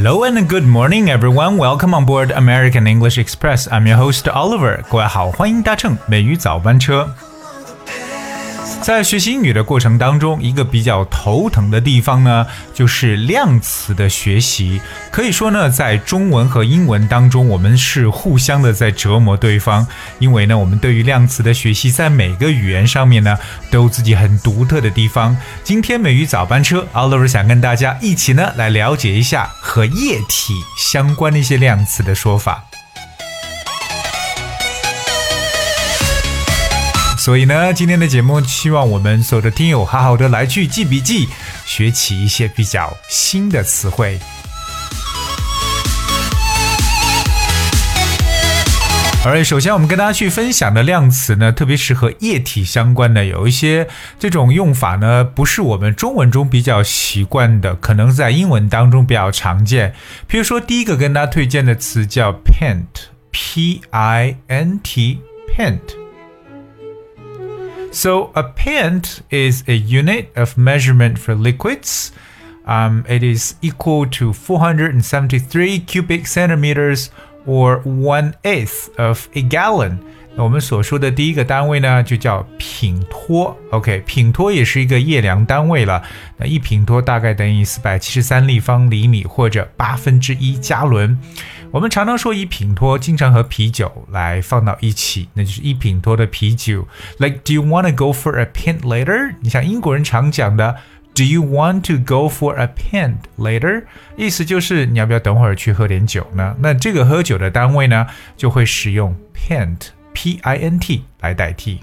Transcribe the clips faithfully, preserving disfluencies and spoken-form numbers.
Hello and good morning, everyone. Welcome on board American English Express. I'm your host, Oliver. 各位好，欢迎搭乘美语早班车。在学习英语的过程当中，一个比较头疼的地方呢，就是量词的学习。可以说呢，在中文和英文当中，我们是互相的在折磨对方，因为呢，我们对于量词的学习，在每个语言上面呢，都有自己很独特的地方。今天美语早班车 Oliver 想跟大家一起呢，来了解一下和液体相关的一些量词的说法。所以呢，今天的节目希望我们所有的听友好好的来去记笔记，学起一些比较新的词汇。而首先我们跟大家去分享的量词呢，特别是和液体相关的，有一些这种用法呢，不是我们中文中比较习惯的，可能在英文当中比较常见。比如说第一个跟大家推荐的词叫 pint, P I N T, pint。So a pint is a unit of measurement for liquids. Um, it is equal to four hundred seventy-three cubic centimeters or one-eighth of a gallon. 那我们所说的第一个单位呢，就叫品托。OK， 品托也是一个液量单位了。那一品托大概等于四百七十三立方厘米或者八分之一加仑。我们常常说一品托，经常和啤酒来放到一起，那就是一品托的啤酒。Like, do you want to go for a pint later? 你像英国人常讲的 Do you want to go for a pint later? 意思就是你要不要等会儿去喝点酒呢？那这个喝酒的单位呢，就会使用 pint, P I N T 来代替。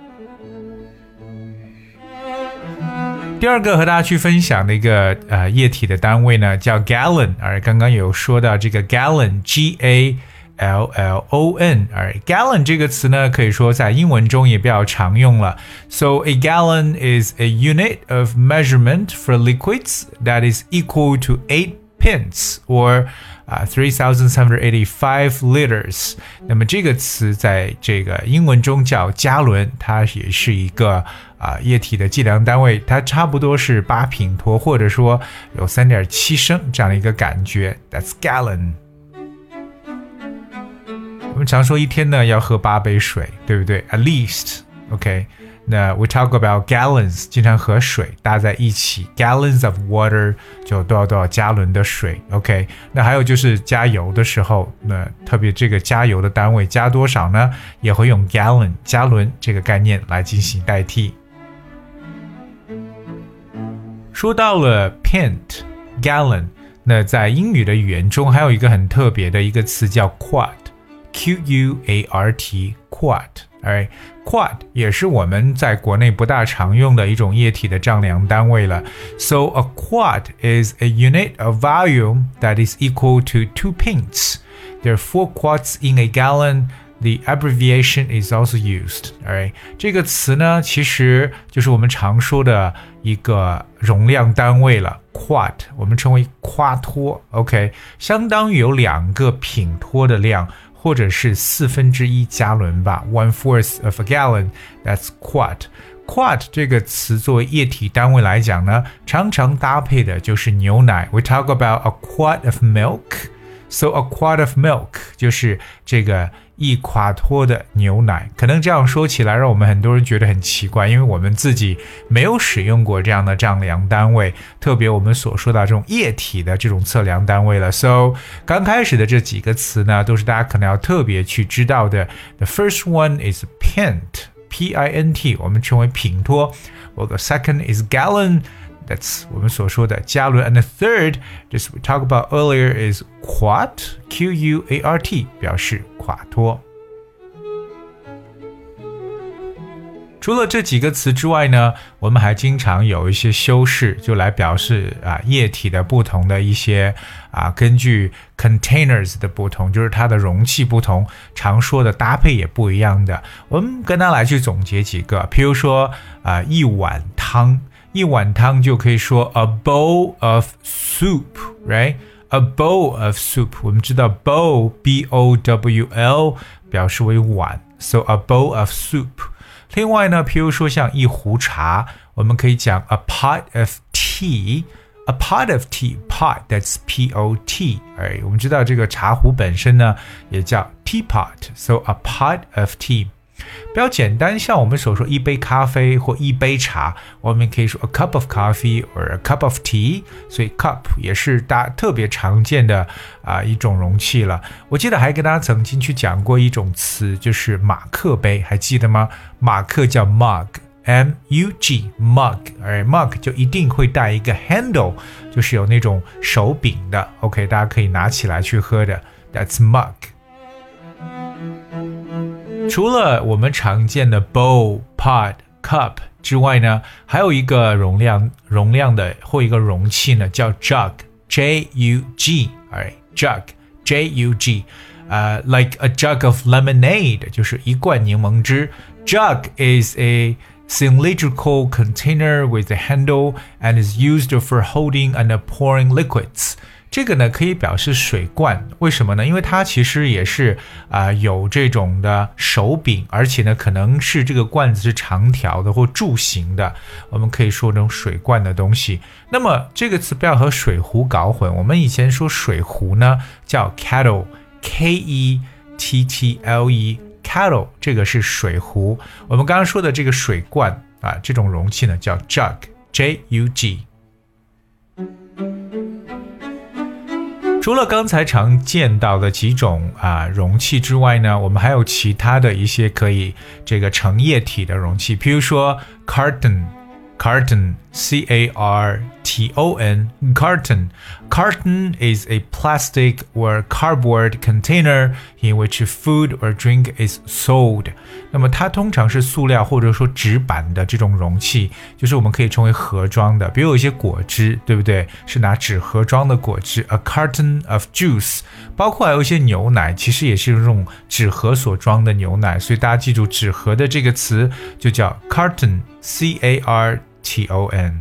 第二个和大家去分享的一个呃液体的单位呢，叫 gallon， 而刚刚有说到这个 gallon G A L L O N， 而 gallon 这个词呢，可以说在英文中也比较常用了。So a gallon is a unit of measurement for liquids that is equal to eight pints or、uh, three thousand seven hundred eighty-five liters。 那么这个词在这个英文中叫加仑，它也是一个、呃、液体的计量单位，它差不多是八品托，或者说有 三点七升这样的一个感觉。 That's gallon。 我们常说一天呢要喝八杯水，对不对？ At least OK， 那 we talk about gallons， 经常和水搭在一起， gallons of water 就多少多少加仑的水。 OK， 那还有就是加油的时候，那特别这个加油的单位加多少呢，也会用 gallon 加仑这个概念来进行代替。说到了 pint gallon， 那在英语的语言中还有一个很特别的一个词叫 quart， Q U A R T quart。Alright, quart 也是我们在国内不大常用的一种液体的丈量单位了。So a quart is a unit of volume that is equal to two pints. There are four quarts in a gallon. The abbreviation is also used. Alright, 这个词呢，其实就是我们常说的一个容量单位了。quart 我们称为夸托 OK， 相当于有两个品托的量，或者是四分之一加仑吧 one fourth of a gallon, that's quart. Quart 这个词作为液体单位来讲呢，常常搭配的就是牛奶。 We talk about a quart of milk. So a quart of milk 就是这个一夸托的牛奶。可能这样说起来让我们很多人觉得很奇怪，因为我们自己没有使用过这样的丈量单位，特别我们所说的这种液体的这种测量单位了。 So 刚开始的这几个词呢，都是大家可能要特别去知道的。 The first one is pint, P I N T， 我们称为品托。 Well, the second is gallon，That's 我们所说的加仑 and the third, just we talked about earlier, is quart, Q U A R T, 表示垮托。除了这几个词之外呢，我们还经常有一些修饰，就来表示啊液体的不同的一些啊，根据 containers 的不同，就是它的容器不同，常说的搭配也不一样的。我们跟它来去总结几个，譬如说啊一碗汤。一碗汤就可以说 a bowl of soup, right? A bowl of soup. 我们知道 bowl, B O W L 表示为碗 So a bowl of soup. 另外呢，譬如说像一壶茶，我们可以讲 a pot of tea, A pot of tea, pot, that's P O T. Alright, 我们知道这个茶壶本身呢也叫 teapot, so a pot of tea. 比较简单，像我们所说一杯咖啡或一杯茶，我们可以说 a cup of coffee or a cup of tea. 所以 cup 也是大家特別常見的啊、呃、一種容器了。我記得還跟大家曾經去講過一種詞，就是馬克杯，還記得嗎？馬克叫 mug。M U G mug， 而 mug 就一定會帶一個 handle， 就是有那種手柄的 OK， 大家可以拿起來去喝的 That's mug。 除了我們常見的 bowl、pot、cup 之外呢，還有一個容量容量的或一個容器呢叫 jug J U G Alright jug J U G、uh, like a jug of lemonade 就是一罐檸檬汁 Jug is a cylindrical container with a handle and is used for holding and pouring liquids. 这个呢可以表示水罐，为什么呢？因为它其实也是啊、呃、有这种的手柄，而且呢可能是这个罐子是长条的或柱形的，我们可以说这种水罐的东西。那么这个词不要和水壶搞混，我们以前说水壶呢叫 kettle K E T T L E。Kettle 这个是水壶，我们刚刚说的这个水罐啊，这种容器呢叫 jug J U G。 除了刚才常见到的几种啊容器之外呢，我们还有其他的一些可以这个盛液体的容器，比如说 carton Carton, C A R T O N, carton. Carton is a plastic or cardboard container in which food or drink is sold. 那么它通常是塑料或者说纸板的这种容器，就是我们可以称为盒装的，比如有一些果汁，对不对？是拿纸盒装的果汁 A carton of juice. 包括还有一些牛奶，其实也是这种纸盒所装的牛奶，所以大家记住纸盒的这个词就叫 carton, C A R T O N。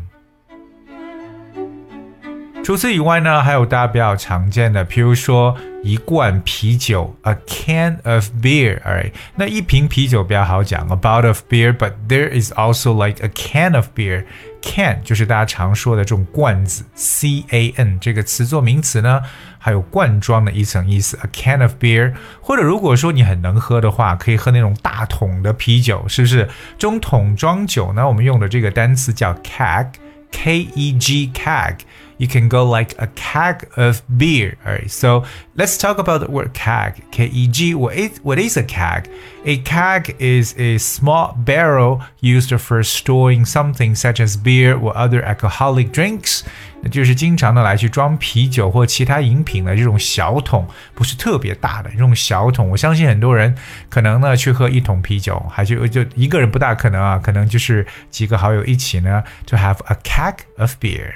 除此以外呢，还有大家比较常见的，比如说一罐啤酒 A can of beer Alright， 那一瓶啤酒比较好讲 A bottle of beer But there is also like a can of beer Can 就是大家常说的这种罐子 C A N 这个词做名词呢还有罐装的一层意思 A can of beer。 或者如果说你很能喝的话，可以喝那种大桶的啤酒，是不是？这种桶装酒呢，我们用的这个单词叫 keg K E G keg。 You can go like a keg of beer. Alright, so let's talk about the word keg. K E G, what is, what is a keg? A keg is a small barrel used for storing something such as beer or other alcoholic drinks. 那就是经常的来去装啤酒或其他饮品的这种小桶，不是特别大的这种小桶。我相信很多人可能呢去喝一桶啤酒，还就就一个人不大可能啊，可能就是几个好友一起呢 to have a keg of beer。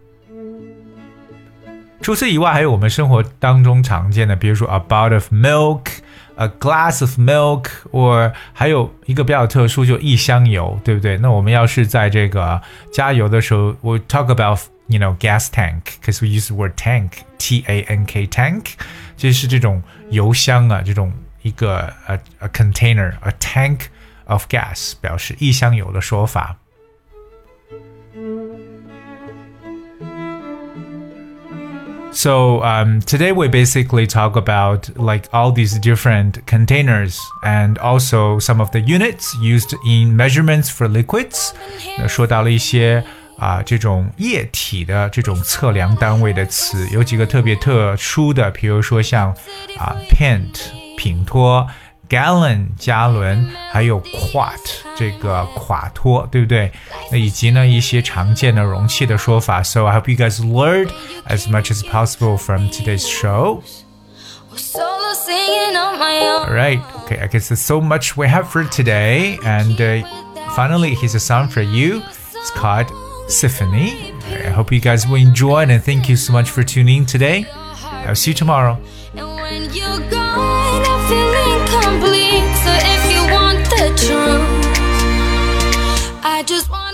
除此以外，还有我们生活当中常见的，比如说 a bowl of milk、a glass of milk， or 还有一个比较特殊，就一箱油，对不对？那我们要是在这个加油的时候 ，we talk about you know gas tank because we use the word tank, T A N K tank， 就是这种油箱啊，这种一个 a, a container, a tank of gas 表示一箱油的说法。So um, today we basically talk about like all these different containers and also some of the units used in measurements for liquids. 那说到了一些啊、呃、这种液体的这种测量单位的词，有几个特别特殊的，比如说像啊、呃、pint 品托。Gallon 加仑，还有 quart 这个垮托，对不对？那以及呢一些常见的容器的说法。So I hope you guys learned as much as possible from today's show. Alright, okay, I guess that's so much we have for today. And uh, finally, here's a song for you. It's called Symphony. I hope you guys will enjoy it, and thank you so much for tuning in today. I'll see you tomorrow. Complete. So if you want the truth, I just want